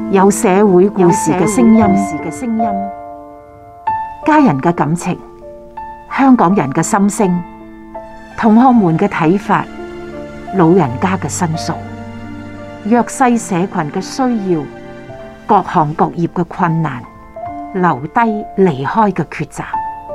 有社會故事嘅聲音，家人嘅感情，香港人嘅心聲，同學們嘅睇法，老人家嘅申訴，弱勢社群嘅需要，各行各業嘅困難，留低離開嘅抉擇，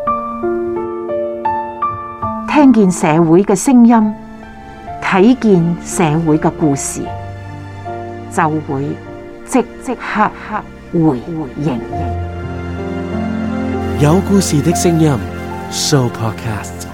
聽見社會嘅聲音，睇見社會嘅故事，就會即刻回應。 有故事的聲音 Show Podcast。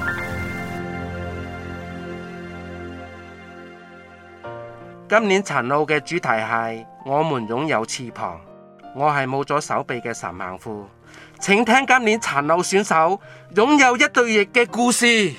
今年殘奧嘅主題係我們擁有翅膀。我係冇咗手臂嘅陳幸富，請聽今年殘奧選手擁有一對翼嘅故事。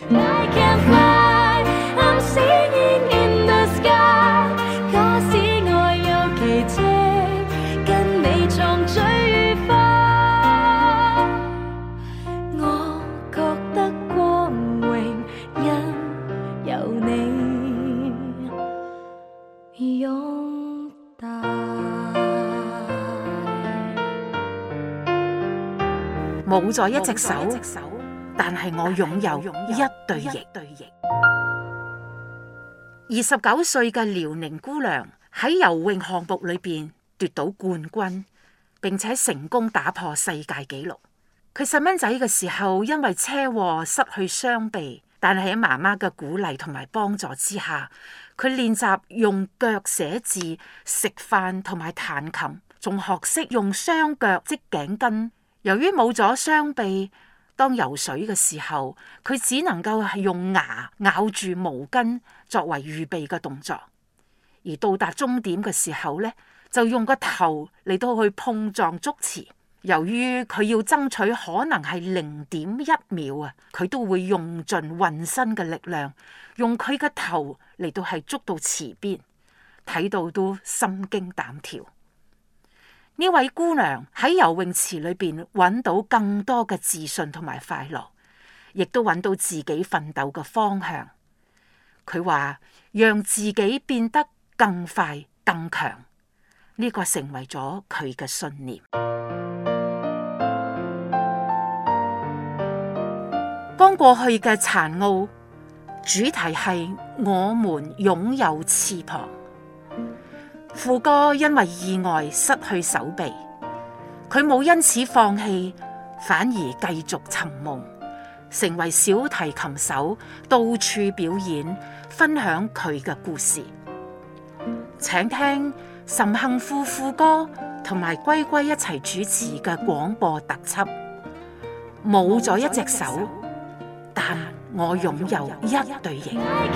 冇咗一隻手，但係我擁有一對翼。29歲嘅遼寧姑娘喺游泳項目裏邊奪到冠軍，並且成功打破世界紀錄。佢細蚊仔嘅時候因為車禍失去雙臂，但係喺媽媽嘅鼓勵同埋幫助之下，佢練習用腳寫字、食飯同埋彈琴，仲學識用雙腳織頸巾。由於冇咗雙臂，當游水嘅時候，佢只能夠係用牙咬住毛巾作為預備嘅動作。而到達終點嘅時候呢，就用個頭嚟到去碰撞觸池。由於佢要爭取可能係0.1秒啊，佢都會用盡渾身嘅力量，用佢嘅頭嚟到係捉到池邊，睇到都心驚膽跳。呢位姑娘喺游泳池裏邊揾到更多嘅自信同埋快樂，亦都揾到自己奮鬥嘅方向。佢話讓自己變得更快更強，呢個成為咗佢嘅信念。剛過去嘅殘奧主題係我們擁有翅膀。富哥因為意外失去手臂，佢冇因此放棄，反而繼續尋夢，成為小提琴手，到處表演，分享佢嘅故事。請聽岑幸富富哥同埋龜龜一齊主持嘅廣播特輯。冇咗一隻手，但我擁有一對翼。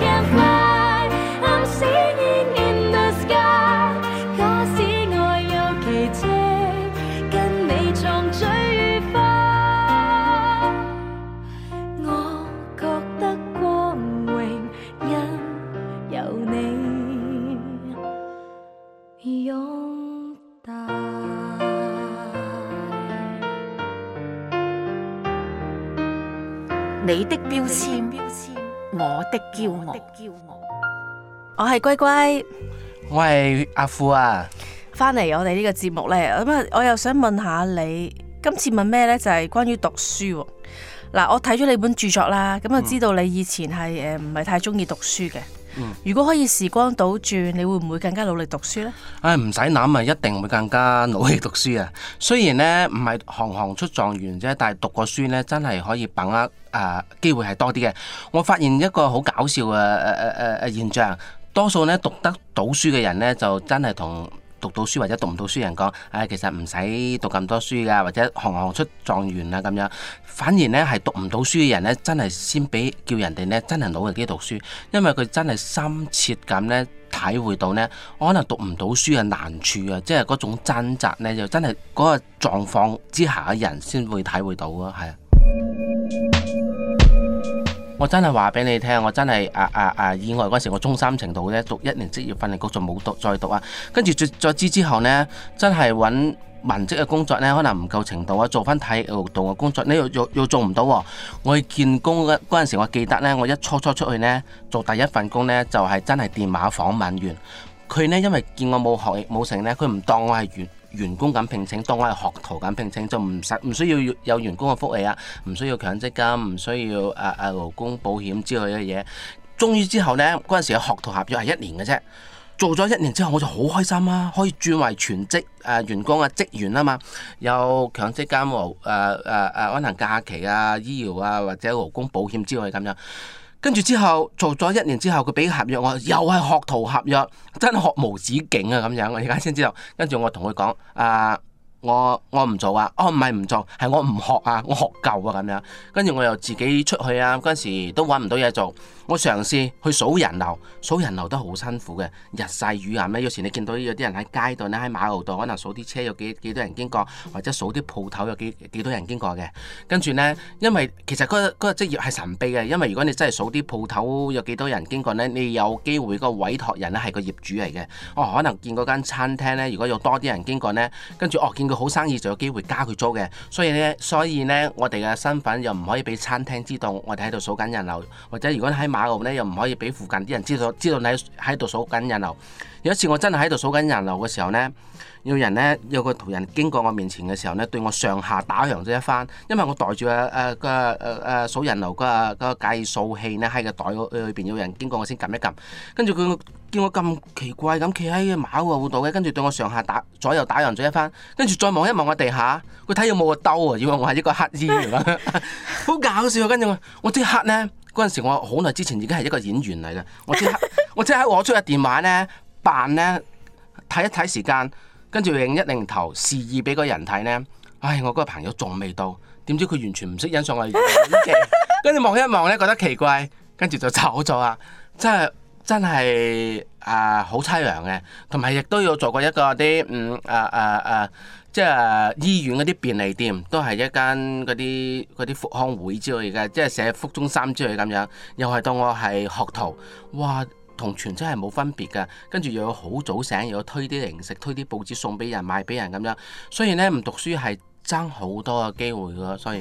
你的標籤，我的驕傲。 我係龜龜， 我係阿富啊。 翻嚟我哋呢個節目呢，咁啊，我又想問下你，今次問咩呢？就係關於讀書。嗱，我睇咗你本著作啦，咁啊，知道你以前係唔係太中意讀書嘅。如果可以時光倒轉，你會唔會更加努力讀書呢？ 唔使諗啊，一定會更加努力讀書啊！雖然呢唔係行行出狀元啫，但係讀過書呢真係可以把握機會係多啲嘅。我發現一個好搞笑嘅現象，多數呢讀得到書嘅人呢，就真係同讀到書或者讀唔到書人講，其實唔使讀咁多書噶，或者行行出狀元啊咁樣。反而呢係讀唔到書嘅人呢，真係先俾叫人哋呢真係努力啲讀書，因為佢真係深切咁呢體會到呢，可能讀唔到書嘅難處啊，即係嗰種掙扎呢，就真係嗰個狀況之下嘅人先會體會到啊，係啊。我真係話俾你聽，我真係意外嗰時，我中三程度咧讀1年職業訓練局就冇再讀啊。跟住再之後呢，真係揾文職嘅工作呢，可能唔夠程度啊，做翻體育勞動嘅工作，你又做唔到喎。我去見工嗰陣時，我記得呢，我一初出去呢，做第一份工呢，就係真係電話訪問員。佢呢，因為見我冇學歷冇成呢，佢唔當我係員工咁聘請，當我係學徒咁聘請，就唔需要有員工嘅福利啊，唔需要強積金，唔需要勞工保險之類嘅嘢。終於之後呢，嗰陣時嘅學徒合約係1年嘅啫。做咗1年之後，我就好開心啊，可以轉為全職員工啊，職員啊嘛，有強積金可能假期啊、醫療啊或者勞工保險之類咁樣。跟住之後做咗1年之後，佢俾合約我，又係學徒合約，真係學無止境啊咁樣。我而家先知道，跟住我同佢講我唔做啊，唔係唔做，係我唔學啊，我學夠啊咁樣。跟住我又自己出去啊，嗰陣時都揾唔到嘢做，我嘗試去數人流，數人流都好辛苦嘅，日曬雨淋咧。有時你見到有啲人喺街度咧，喺馬路度，可能數啲車有幾多人經過，或者數啲鋪頭有幾多人經過嘅。跟住呢，因為其實嗰個職業係神秘嘅，因為如果你真係數啲鋪頭有幾多人經過呢，你有機會個委託人咧係個業主嚟嘅。可能見嗰間餐廳呢，如果有多啲人經過呢，跟住見佢好生意就有機會加佢租嘅。所以呢，我哋嘅身份又唔可以俾餐廳知道我哋喺度數緊人流，或者如果喺馬路呢，又唔可以俾附近啲人知道你喺度數緊人流。有一次我真係喺度數緊人流嘅時候呢，有個途人經過我面前嘅時候呢，對我上下打量咗一番，因為我袋住數人流個計數器呢，喺個袋裏邊，有人經過我先撳一撳，跟住佢見我咁奇怪咁企喺馬路度嘅，跟住對我上下左右打量咗一番，跟住再望一望我地下，佢睇有冇個兜啊，以為我係一個乞衣嚟嘅，好搞笑。跟住我即刻呢，嗰陣時我好耐之前已經係一個演員嚟嘅，我即刻攞出個電話呢，扮呢，睇一睇時間，跟住擰一擰頭示意俾個人睇呢。唉，我嗰個朋友仲未到，點知佢完全唔識欣賞我演技，跟住望一望呢，覺得奇怪，跟住就走咗啊！真係好凄涼嘅，同埋亦都有做過一個啲即係醫院嗰啲便利店，都係一間嗰啲復康會之類嘅，即係社福中心之類咁樣，又係當我係學徒，哇！同全職係冇分別㗎，跟住又有好早醒，又有推啲零食、推啲報紙送俾人、賣俾人咁樣，所以呢，唔讀書係爭好多嘅機會㗎，所以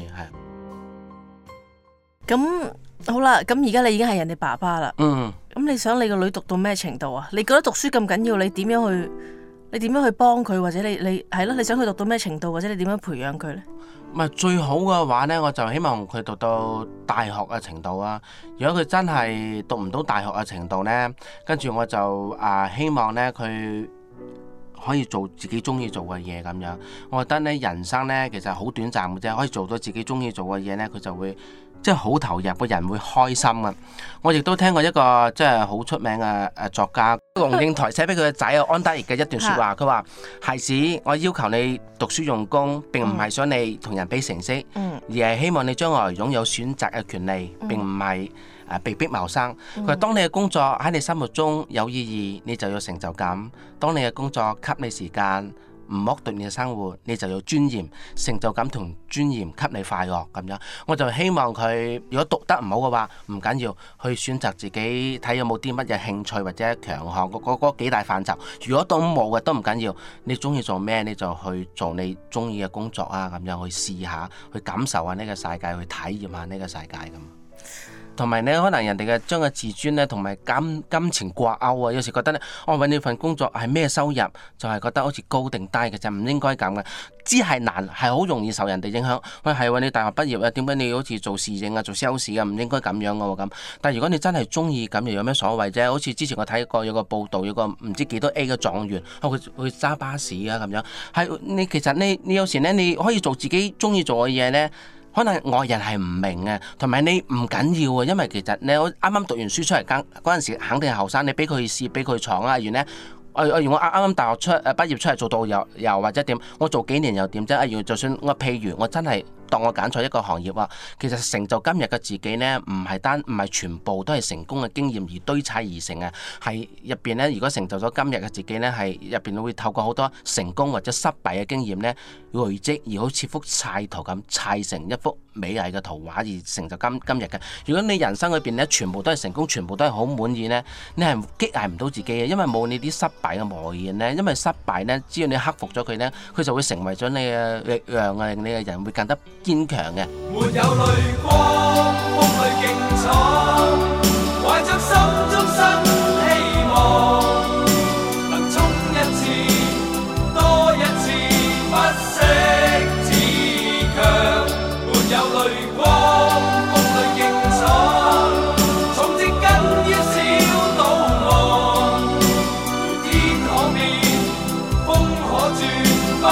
係。 咁好啦，咁而家你已經係人哋爸爸啦。 嗯。 咁你想你個女讀到咩程度啊？你覺得讀書咁緊要，你點樣去幫佢，或者你係咯？你想佢讀到咩程度，或者你點樣培養佢呢？ 咪最好嘅話呢，我就希望佢讀到大學嘅程度啊。如果佢真係讀唔到大學嘅程度呢，跟住我就希望呢，佢可以做自己中意做嘅嘢咁樣。我覺得呢，人生呢其實好短暫嘅啫，可以做到自己中意做嘅嘢呢，佢就會即係好投入，個人會開心啊！我亦都聽過一個即係好出名嘅作家龍應台寫俾佢嘅仔安德烈嘅一段説話，佢話：孩子，我要求你讀書用功，並唔係想你同人比成績，而係希望你將來擁有選擇嘅權利，並唔係被逼謀生。佢話：當你嘅工作喺你心目中有意義，你就有成就感；當你嘅工作給你時間，唔剝奪你嘅生活，你就有尊嚴、成就感同尊嚴，給你快樂咁樣。我就希望佢如果讀得唔好嘅話，唔緊要，去選擇自己睇有冇啲乜嘢興趣或者強項嗰幾大範疇。如果都冇嘅都唔緊要，你中意做咩你就去做你中意嘅工作啊，咁樣去試下，去感受下呢個世界，去體驗下呢個世界咁。同埋呢，可能人哋嘅將個自尊呢同埋金錢掛鈎啊，有時覺得呢，我揾呢份工作係咩收入，就係覺得好似高定低嘅啫，唔應該咁嘅。知係難，係好容易受人哋影響。喂，係喎，你大學畢業啊，點解你好似做侍應啊、做 sales 啊，唔應該咁樣嘅喎咁。但係如果你真係中意咁，又有咩所謂啫？好似之前我睇過有個報道，有個唔知幾多 A 嘅狀元，佢揸巴士啊咁樣。係你其實你有時呢，你可以做自己中意做嘅嘢呢。可能外人係唔明嘅，同埋你唔緊要啊，因為其實你啱啱讀完書出嚟嗰陣時，肯定係後生，你俾佢試，俾佢闖啊，然後呢，我啱啱大學畢業出嚟做導遊又或者點，我做幾年又點啫？就算譬如我真係當我揀錯一個行業啊，其實成就今日嘅自己呢，唔係全部都係成功嘅經驗而堆砌而成啊，係入邊呢，如果成就咗今日嘅自己呢，係入邊會透過好多成功或者失敗嘅經驗呢，累積而好似幅砌圖咁砌成一幅美麗嘅圖畫而成就今日嘅。如果你人生裏邊呢，全部都係成功，全部都係好滿意呢，你係激勵唔到自己嘅，因為冇你啲失敗嘅磨練呢，因為失敗呢，只要你克服咗佢呢，佢就會成為咗你嘅力量啊，令你嘅人會更加堅強嘅。 沒有淚光，風裏勁闖，懷着心中新希望，能衝一次多一次。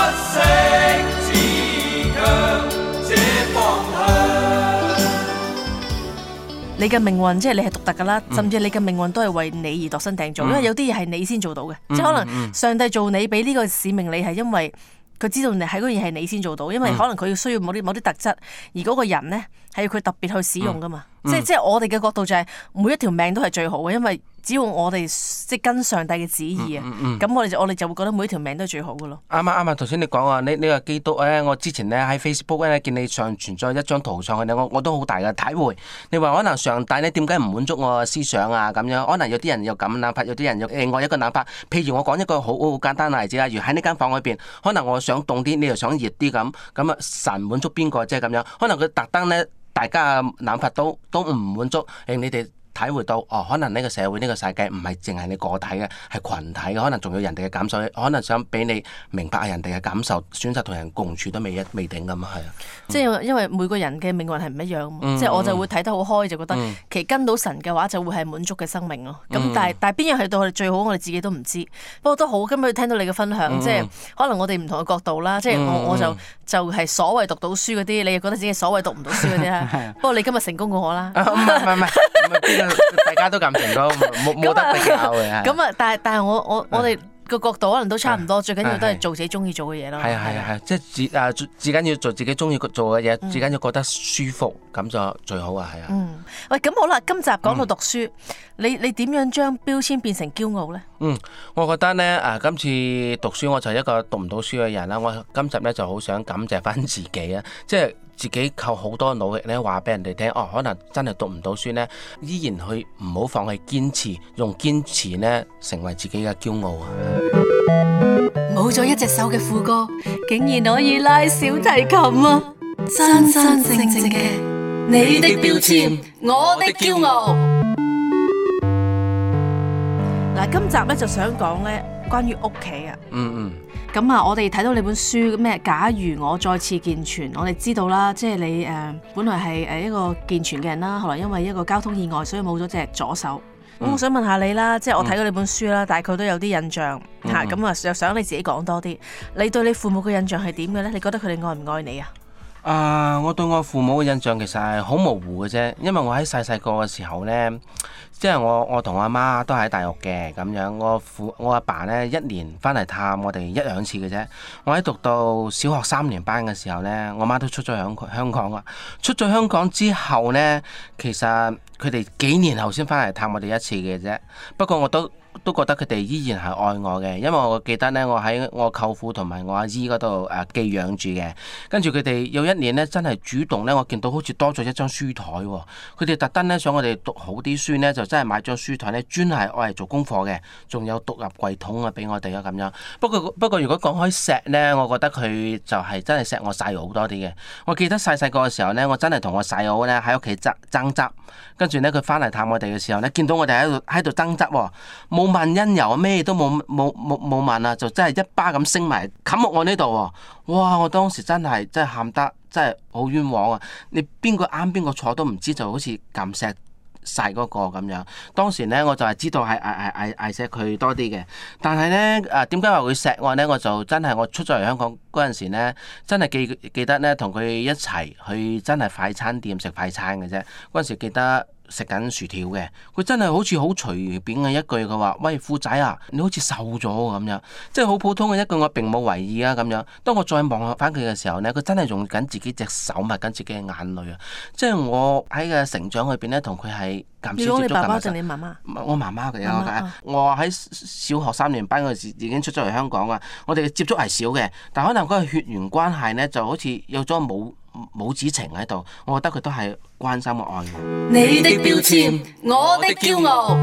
息自強這方向。 你嘅命運即係你係獨特噶啦，甚至你嘅命運都係為你而度身訂造，因為有啲嘢係你先做到嘅，即係可能上帝做你俾呢個使命你係因為佢知道你喺嗰樣嘢係你先做到，因為可能佢需要某啲特質，而嗰個人呢係要佢特別去使用噶嘛，即係我哋嘅角度就係每一條命都係最好嘅，因為只要我哋即係跟上帝嘅旨意啊，咁我哋就會覺得每一條命都係最好嘅咯。 啱啊！頭先你講啊，呢個基督咧，我之前咧喺 Facebook 咧見你上傳咗一張圖上去咧，我都好大嘅體會。你話可能上帝咧點解唔滿足我嘅思想啊？咁樣可能有啲人有咁諗法，有啲人有另外一個諗法。譬如我講一個好簡單嘅例子啦，如喺呢間房裏邊，可能我想凍啲，你又想熱啲咁啊，神滿足邊個即係咁樣？可能佢特登咧，大家嘅諗法都唔滿足，令你哋體會到可能呢個社會呢個世界唔係淨係你個體嘅，係群體嘅，可能仲有人哋嘅感受，可能想俾你明白人哋嘅感受，選擇同人共處都未定咁啊，係啊。 即係因為每個人嘅命運係唔一樣，即係我就會睇得好開，就覺得其實跟到神嘅話就會係滿足嘅生命咯。咁但係邊樣係到我哋最好，我哋自己都唔知。不過都好，今日聽到你嘅分享，即係可能我哋唔同嘅角度啦。即係我就係所謂讀到書嗰啲，你又覺得自己所謂讀唔到書嗰啲啦。不過你今日成功過我啦。 唔係。大家都咁成功，冇得比較嘅。 咁啊，但係我哋個角度可能都差唔多，最緊要都係做自己中意做嘅嘢咯。 係，即係至緊要做自己中意做嘅嘢，至緊要覺得舒服，咁就最好啊，係啊。 喂，咁好啦，今集講到讀書，你點樣將標籤變成驕傲咧？ 我覺得咧今次讀書我就係一個讀唔到書嘅人啦。我今集咧就好想感謝翻自己啊，即係自己靠好多努力咧，話俾人哋聽，可能真係讀唔到書咧，依然去唔好放棄堅持，用堅持咧成為自己嘅驕傲啊！ 冇咗一隻手嘅副歌，竟然可以拉小提琴啊！真真正正嘅你的標籤，我的驕傲。 嗱，今集咧就想講咧關於屋企啊。咁啊，我哋睇到你本書咩？假如我再次健全，我哋知道啦，即係你本來係一個健全嘅人啦，後來因為一個交通意外，所以冇咗隻左手。咁我想問下你啦，即係我睇過你本書啦，大概都有啲印象嚇，咁啊又想你自己講多啲。你對你父母嘅印象係點嘅咧？你覺得佢哋愛唔愛你啊？ 我對我父母嘅印象其實係好模糊嘅啫，因為我喺細個嘅時候咧。即係我同我阿媽都喺大陸嘅咁樣，我阿爸呢一年翻嚟探我哋1、2次嘅啫。我喺讀到小學3年班嘅時候呢，我媽都出咗香港啦。出咗香港之後呢，其實佢哋幾年後先翻嚟探我哋1次嘅啫。不過我都覺得佢哋依然係愛我嘅，因為我記得呢，我喺我舅父同埋我阿姨嗰度寄養住嘅。跟住佢哋有一年呢，真係主動呢，我見到好似多咗一張書台喎。佢哋特登呢，想我哋讀好啲書呢，就真係買張書台呢，專係愛嚟做功課嘅，仲有獨立櫃桶啊俾我哋啊咁樣。不過如果講開錫呢，我覺得佢就係真係錫我細佬好多啲嘅。我記得細個嘅時候呢，我真係同我細佬呢喺屋企爭執，跟住呢，佢翻嚟探我哋嘅時候呢，見到我哋喺度爭執喎，冇問因由，咩都冇問啊，就真係一巴咁升埋冚落我呢度喎！哇！我當時真係喊得真係好冤枉啊！你邊個啱邊個錯都唔知，就好似撳錫晒嗰個咁樣。當時呢，我就係知道係嗌錫佢多啲嘅，但係呢，點解話會錫我呢？我就真係我出咗嚟香港嗰陣時呢，真係記得呢，同佢一齊去真係快餐店食快餐嘅啫。嗰陣時記得食緊薯條嘅，佢真係好似好隨便嘅一句，佢話：喂，富仔啊，你好似瘦咗咁樣，即係好普通嘅一句，我並冇為意啊咁樣。當我再望翻佢嘅時候呢，佢真係用緊自己隻手抹緊自己嘅眼淚啊！即係我喺嘅成長裏邊呢，同佢係減少接觸。 你爸爸定你媽媽？ 我媽媽嘅，我喺小學3年班嗰時已經出咗嚟香港啊！我哋嘅接觸係少嘅，但可能嗰個血緣關係呢，就好似有咗母子情喺度，我覺得佢都係關心我愛我。 你的標籤，我的驕傲。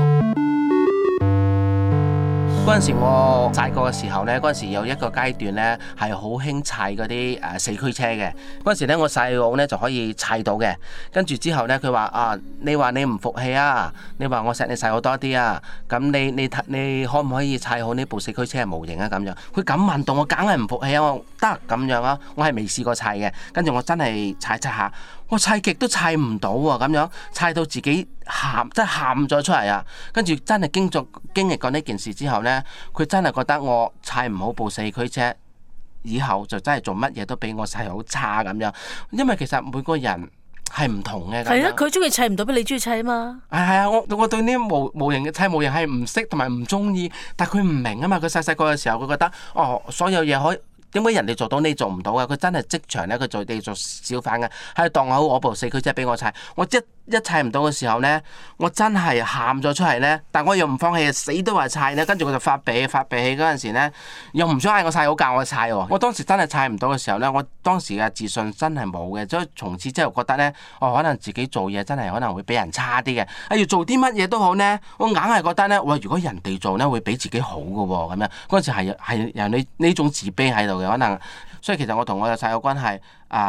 嗰陣時我細個嘅時候呢，嗰陣時有一個階段呢係好興砌嗰啲4驅車嘅。嗰陣時呢，我細佬呢就可以砌到嘅。跟住之後呢，佢話你話你唔服氣啊？你話我錫你細佬多啲啊？咁你可唔可以砌好呢部4驅車嘅模型啊？咁樣佢咁問到我，梗係唔服氣啊！我得咁樣啊！我係未試過砌嘅。跟住我真係砌下，我砌極都砌唔到喎！咁樣砌到自己真係喊咗出嚟啊！跟住真係經歷過呢件事之後呢，佢真係覺得我砌唔好部4驅車， 以後就真係做乜嘢都比我細好差咁樣。因為其實每個人係唔同嘅。 係啊，佢中意砌唔到，俾你中意砌啊嘛。 係啊，我對呢啲模型嘅砌模型係唔識同埋唔中意，但係佢唔明啊嘛。佢細個嘅時候，佢覺得所有嘢可以。點解人哋做到你做唔到啊？佢真係職場咧，佢做小販嘅，喺度當好我部4驅車俾我砌，我一砌唔到嘅時候咧，我真係喊咗出嚟咧。但我又唔放棄，死都話砌咧。跟住佢就發脾氣嗰陣時咧，又唔想嗌我砌，好教我砌喎。我當時真係砌唔到嘅時候咧，我當時嘅自信真係冇嘅，所以從此之後覺得咧，可能自己做嘢真係可能會比人差啲嘅。要做啲乜嘢都好咧，我硬係覺得咧，喂，如果人哋做咧會比自己好嘅喎，咁樣嗰陣時係有呢種自卑喺度嘅可能。所以其實我同我嘅細佬關係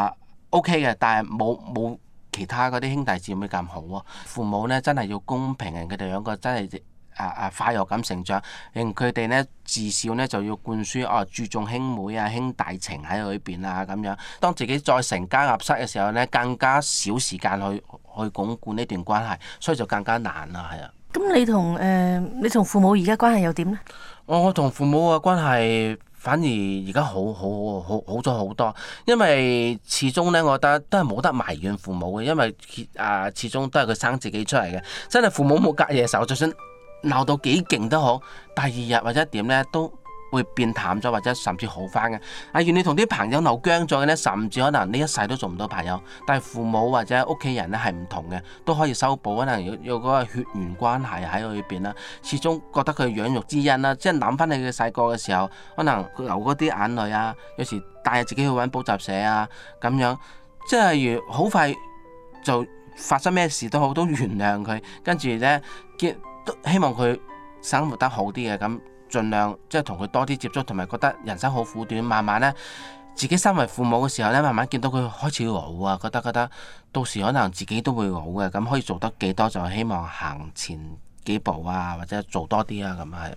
OK 嘅，但係冇其他嗰啲兄弟姊妹咁好喎。父母咧真係要公平，佢哋兩個真係快樂咁成長，令佢哋咧自小咧就要灌輸注重兄妹啊兄弟情喺裏邊啊咁樣。當自己再成家立室嘅時候咧，更加少時間去鞏固呢段關係，所以就更加難啦，係啊。 咁你同父母而家關係又點咧？ 我同父母嘅關係反而而家好咗好多，因為始終咧，我覺得都係冇得埋怨父母嘅，因為始終都係佢生自己出嚟嘅，真係父母冇隔夜仇，就算鬧到幾勁都好，第二日或者點咧都會變淡咗，或者甚至好翻嘅。如果你同啲朋友鬧僵咗嘅咧，甚至可能呢一世都做唔到朋友。但係父母或者屋企人咧係唔同嘅，都可以修補，可能有嗰個血緣關係喺裏邊啦。始終覺得佢養育之恩啦，即係諗翻你嘅細個嘅時候，可能流嗰啲眼淚啊，有時帶自己去揾補習社啊咁樣，即係如好快就發生咩事都好，都原諒佢，跟住咧都希望佢生活得好啲嘅咁。盡量即係同佢多啲接觸，同埋覺得人生好苦短，慢慢咧自己身為父母嘅時候咧，慢慢見到佢開始老啊，覺得到時可能自己都會老嘅，咁可以做得幾多就希望行前幾步啊，或者做多啲啊，咁係。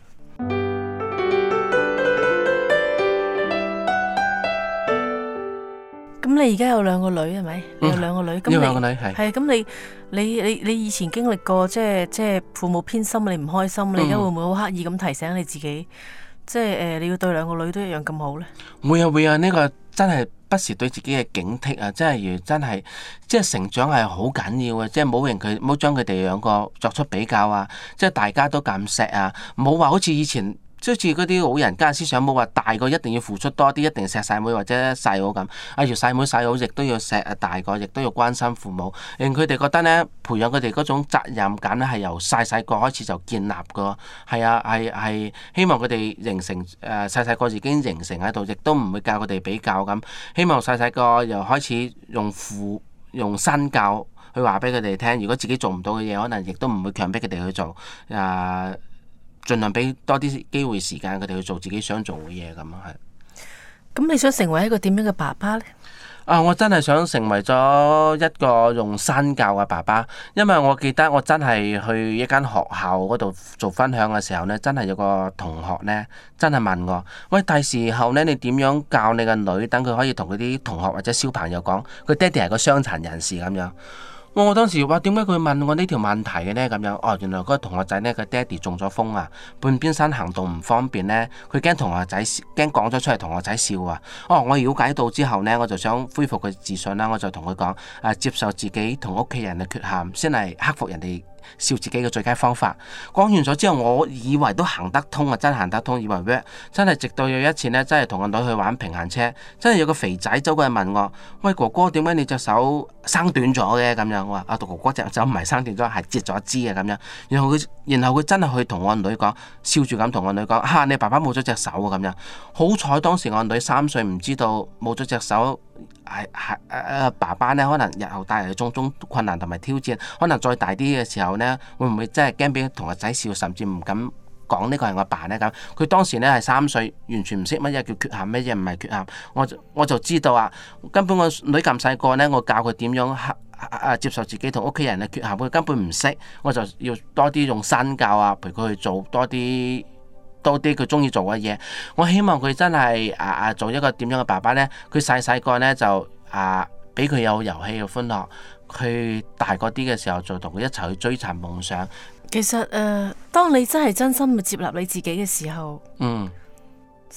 咁你而家有2個女係咪？你有2個女，咁有2個女係咁你以前經歷過即係父母偏心，你唔開心，你而家會唔會好刻意咁提醒你自己，即係你要對2個女都一樣咁好咧？ 會啊，呢個真係不時對自己嘅警惕啊！真係即係成長係好緊要嘅，即係唔好將佢哋2個作出比較啊！即係大家都咁錫啊，唔好話好似以前。即好似嗰啲老人家思想，冇話大個一定要付出多啲，一定錫細妹或者細佬咁。要細妹細佬亦都要錫大個，亦都要關心父母，令佢哋覺得咧，培養佢哋嗰種責任感咧，係由細個開始就建立㗎。係希望佢哋形成細個已經形成喺度，亦都唔會教佢哋比較咁。希望細個又開始用身教去話俾佢哋聽，如果自己做唔到嘅嘢，可能亦都唔會強迫佢哋去做。盡量俾多啲機會時間佢哋去做自己想做嘅嘢咁啊，係。 咁你想成為一個點樣嘅爸爸呢？ 我真係想成為咗一個用身教嘅爸爸，因為我記得我真係去一間學校嗰度做分享嘅時候呢，真係有個同學呢，真係問我：喂，第時候呢，你點樣教你個女，等佢可以同佢啲同學或者小朋友講，佢爹哋係個傷殘人士咁樣。我當時話點解佢問我呢條問題嘅呢？咁樣原來嗰個同學仔呢，佢爹哋中咗風啊，半邊身行動唔方便呢。佢驚同學仔驚講咗出嚟同學仔笑啊。我了解到之後呢，我就想恢復佢自信啦，我就同佢講接受自己同屋企人嘅缺陷，先係克服人哋笑自己嘅最佳方法。講完咗之後，我以為都行得通啊，真係行得通，以為 work。真係直到有一次呢，真係同個女去玩平衡車，真係有個肥仔走過嚟問我：喂，哥哥，點解你隻手生短咗嘅？咁樣我話：哥哥隻手唔係生短咗，係截咗一支嘅咁樣。然後佢真係去同我女講，笑住咁同我女講：你爸爸冇咗隻手啊！咁樣好彩當時我女3歲，唔知道冇咗隻手。爸爸呢，可能日後帶嚟種種困難同埋挑戰，可能再大啲嘅時候呢，會唔會真係驚俾同學仔笑，甚至唔敢講呢個係我爸呢？咁佢當時呢係3歲，完全唔識乜嘢叫缺陷，乜嘢唔係缺陷。我就知道根本我女咁細個呢，我教佢點樣接受自己同屋企人嘅缺陷，佢根本唔識，我就要多啲用身教陪佢去做多啲佢中意做嘅嘢。我希望佢真係做一個點樣嘅爸爸呢？佢細個呢，就俾佢有遊戲嘅歡樂，佢大個啲嘅時候就同佢一齊去追尋夢想。 其實當你真係真心去接納你自己嘅時候，細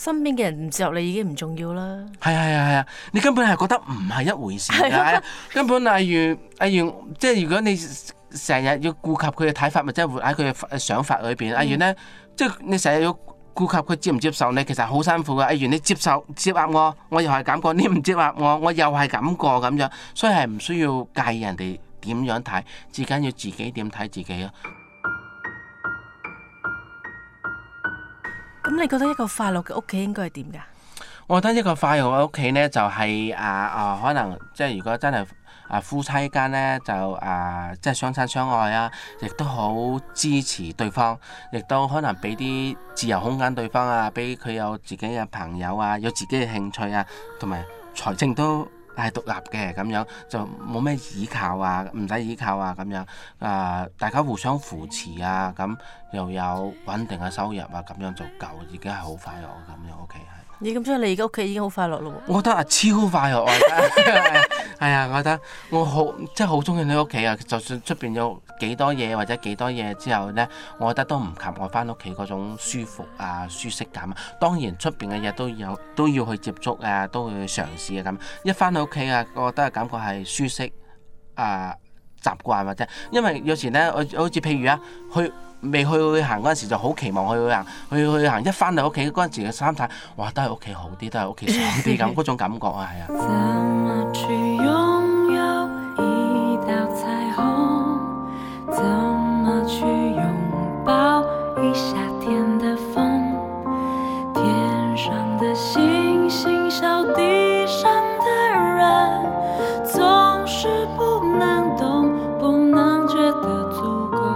身邊嘅人唔接受你已經唔重要啦。 係，你根本係覺得唔係一回事嘅，根本例如即係如果你成日要顧及佢嘅睇法，或者活喺佢嘅想法裏邊，例如咧，即係你成日要顧及佢接唔接受你，其實好辛苦嘅。例如你接納我，我又係咁過；你唔接納我，我又係咁過咁樣，所以係唔需要介意人哋點樣睇，至緊要自己點睇自己咯。 咁你覺得一個快樂嘅屋企應該係點㗎？ 我覺得一個快樂嘅屋企呢，就係可能即係如果真係夫妻間呢，就即係相親相愛啊，亦都好支持對方，亦都可能俾啲自由空間對方啊，俾佢有自己嘅朋友啊，有自己嘅興趣啊，同埋財政都係獨立嘅咁樣，就冇咩依靠啊，唔使依靠啊咁樣，大家互相扶持啊，咁又有穩定嘅收入啊，咁樣就夠，已經係好快樂咁樣屋企係。 你咁所以你而家屋企已經好快樂咯喎？ 我覺得超快樂啊！係啊，我覺得我好即係好中意你屋企啊！就算出邊有幾多嘢或者幾多嘢之後呢，我覺得都唔及我翻屋企嗰種舒服啊、舒適感啊。當然出邊嘅嘢都要去接觸啊，都會去嘗試啊咁。一翻到屋企啊，我覺得感覺係舒適習慣或者，因為有時呢，我好似譬如未去旅行嗰陣時就好期望去旅行，去行一翻到屋企嗰陣時嘅三睇，哇都係屋企好啲，都係屋企爽啲咁嗰種感覺啊，係啊。怎麼去擁有一道彩虹，怎麼去擁抱一夏天的風，天上的星星笑地上的人，總是不能懂，不能覺得足夠。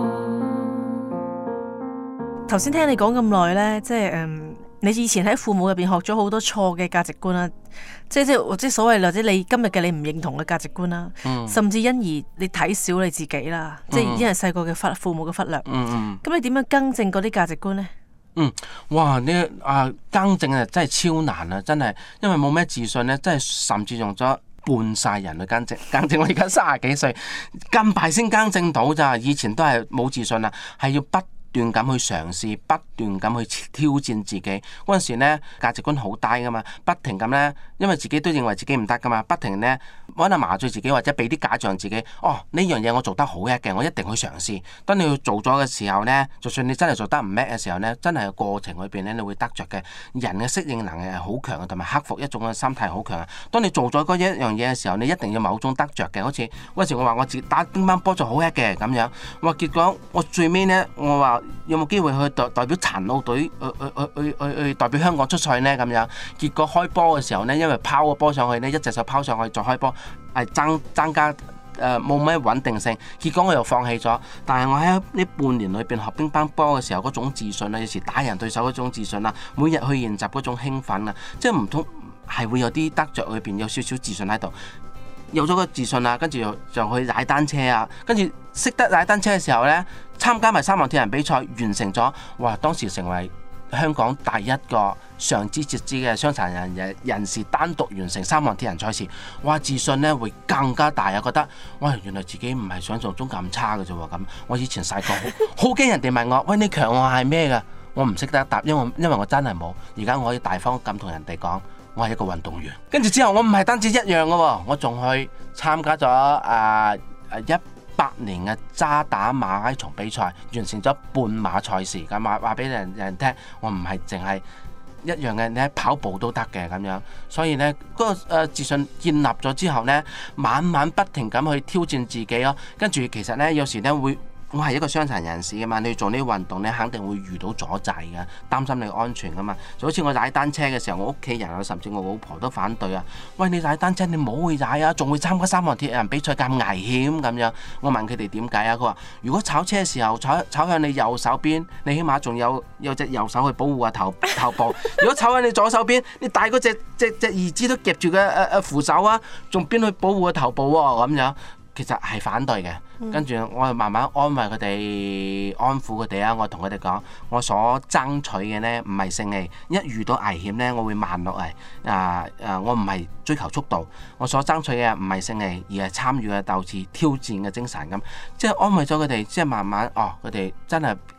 頭先聽你講咁耐呢，即係你以前喺父母入邊學咗好多錯嘅價值觀啦，即係所謂或者你今日嘅你唔認同嘅價值觀啦，甚至因而你睇小你自己啦，即係因為細個嘅父母嘅忽略。咁你點樣更正嗰啲價值觀呢？ 哇！更正啊，真係超難啊，真係，因為冇咩自信呢，真係甚至用咗半世人去更正。我而家30幾歲，咁快先更正到咋？以前都係冇自信啊，係要不斷咁去嘗試，不斷咁去挑戰自己。嗰陣時呢，價值觀好低噶嘛，不停咁呢，因為自己都認為自己唔得噶嘛，不停呢，可能麻醉自己或者俾啲假象自己。呢樣嘢我做得好叻嘅，我一定去嘗試。當你去做咗嘅時候呢，就算你真係做得唔叻嘅時候呢，真係個過程裏邊呢，你會得着嘅。人嘅適應能力係好強嘅，同埋克服一種嘅心態好強啊。當你做咗嗰一樣嘢嘅時候，你一定要某種得着嘅。好似嗰時我話我自己打乒乓波就好叻嘅咁樣，結果我最尾呢，我話有冇機會去代表殘奧隊去代表香港出賽呢？咁樣，結果開波嘅時候呢，因為拋個波上去呢，一隻手拋上去再開波，係增加冇咩穩定性，結果我又放棄咗。但係我喺呢半年裏邊學乒乓波嘅時候，嗰種自信啊，有時打贏對手嗰種自信啊，每日去練習嗰種興奮啊，即係唔通係會有啲得着裏邊有少少自信喺度。有咗個自信啊，跟住就去踩單車啊，跟住識得踩單車嘅時候呢，參加埋3項鐵人比賽，完成咗，哇！當時成為香港第一個上肢截肢嘅傷殘人士單獨完成3項鐵人賽事，哇！自信呢會更加大啊，覺得哇，原來自己唔係想象中咁差嘅啫喎。咁我以前細個好驚人哋問我，喂，你強項係咩㗎？我唔識得答，因為我真係冇。而家我可以大方咁同人哋講，我係一個運動員。跟住之後我唔係單止一樣嘅喎，我仲去參加咗18年嘅渣打馬拉松比賽，完成咗半馬賽事。咁話俾人聽，我唔係淨係一樣嘅，你喺跑步都得嘅咁樣。所以呢，嗰個自信建立咗之後呢，晚晚不停咁去挑戰自己咯。跟住其實呢，有時呢我係一個傷殘人士嘅嘛，你做呢啲運動呢，肯定會遇到阻滯嘅，擔心你安全噶嘛。就好似我踩單車嘅時候，我屋企人啊，甚至我老婆都反對啊。喂，你踩單車你唔好去踩啊，仲會參加3項鐵人比賽咁危險咁樣。我問佢哋點解啊？佢話如果炒車嘅時候炒向你右手邊，你起碼仲有隻右手去保護個頭部。如果炒向你左手邊，你大嗰隻兒子都夾住個扶手啊，仲邊去保護個頭部喎咁樣。其實係反對嘅，跟住我就慢慢安慰佢哋，安撫佢哋啊！我同佢哋講，我所爭取嘅呢唔係勝利，一遇到危險呢，我會慢落嚟。我唔係追求速度，我所爭取嘅唔係勝利，而係參與嘅鬥志、挑戰嘅精神咁。即係安慰咗佢哋，即係慢慢佢哋真係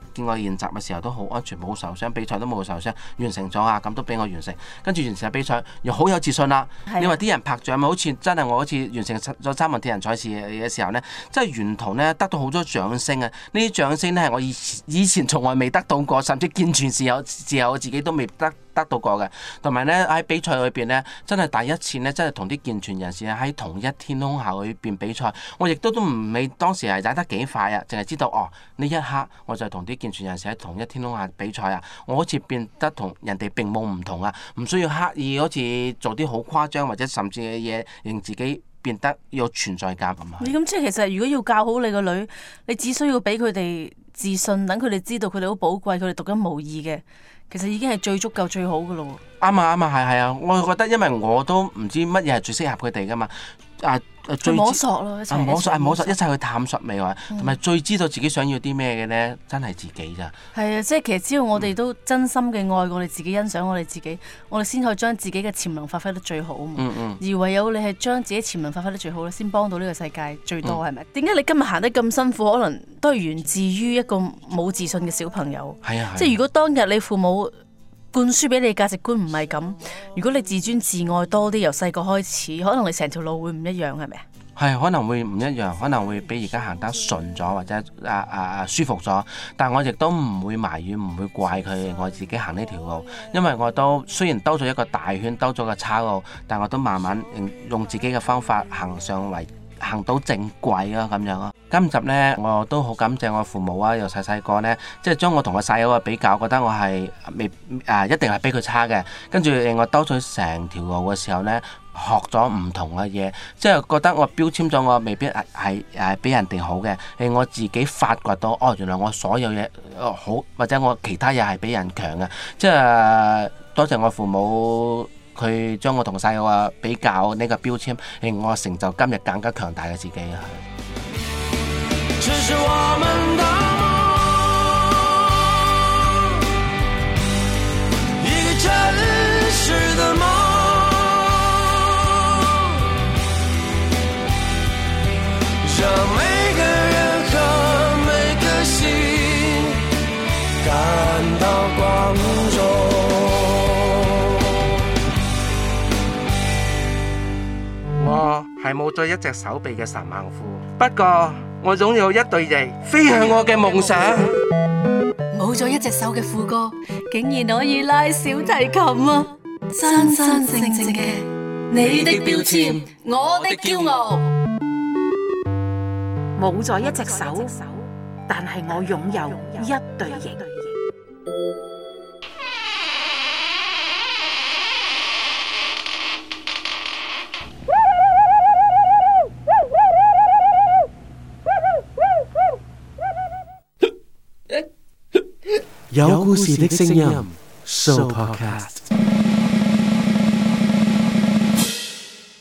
見我練習嘅時候都好安全，冇受傷，比賽都冇受傷，完成咗啊，咁都俾我完成。跟住完成比賽又好有自信啦。你話啲人拍掌咪好似真係我好似完成咗3項鐵人賽事嘅時候呢，即係沿途呢得到好多掌聲啊！呢啲掌聲呢係我以前從來未得到過，甚至健全時候我自己都未得到過嘅。同埋呢，喺比賽裏邊呢，真係第一次呢，真係同啲健全人士喺同一天空下裏邊比賽。我亦都唔理當時係踩得幾快啊，淨係知道呢一刻我就同啲健全人士喺同一天空下比賽啊！我好似變得同人哋並冇唔同啊，唔需要刻意好似做啲好誇張或者甚至嘅嘢，令自己變得有存在感咁啊！ 你咁即係其實如果要教好你個女，你只需要俾佢哋自信，等佢哋知道佢哋好寶貴，佢哋獨一無二嘅，其實已經係最足夠最好噶咯喎。 啱啊，係啊！我覺得因為我都唔知乜嘢係最適合佢哋噶嘛。 摸索咯， 摸索，一齊去探索未來，同埋最知道自己想要啲咩嘅呢，真係自己咋。 係啊，即係其實只要我哋都真心嘅愛我哋自己，欣賞我哋自己，我哋先可以將自己嘅潛能發揮得最好啊嘛。而唯有你係將自己潛能發揮得最好咧，先幫到呢個世界最多，係咪？點解你今日行得咁辛苦？可能都係源自於一個冇自信嘅小朋友。 係啊， 即係如果當日你父母灌輸俾你價值觀唔係咁，如果你自尊自愛多啲，由細個開始，可能你成條路會唔一樣，係咪？ 係可能會唔一樣，可能會比而家行得順咗，或者舒服咗。但我亦都唔會埋怨，唔會怪佢，我自己行呢條路，因為我都雖然兜咗一個大圈，兜咗個岔路，但我都慢慢用自己嘅方法行到正軌啊，咁樣咯。今集呢，我都好感謝我父母啊，由細個呢，即係將我同我細佬嘅比較，覺得我係一定係比佢差嘅。跟住令我兜咗成條路嘅時候呢，學咗唔同嘅嘢，即係覺得我標籤咗我未必係比人哋好嘅，令我自己發掘到原來我所有嘢好，或者我其他嘢係比人強嘅。即係多謝我父母。佢將我同細佬比較呢個標籤，令我成就今日更加強大嘅自己啊！ 只是我們的夢，一個真實的夢，讓每個人和每個心感到光榮。 我係冇咗一隻手臂嘅神猛虎，不過我擁有一對翼，飛向我嘅夢想。 冇咗一隻手嘅富哥，竟然可以拉小提琴啊！真真正正嘅你的標籤，我的驕傲。 冇咗一隻手，但係我擁有一對翼。 有故事的聲音 Show Podcast。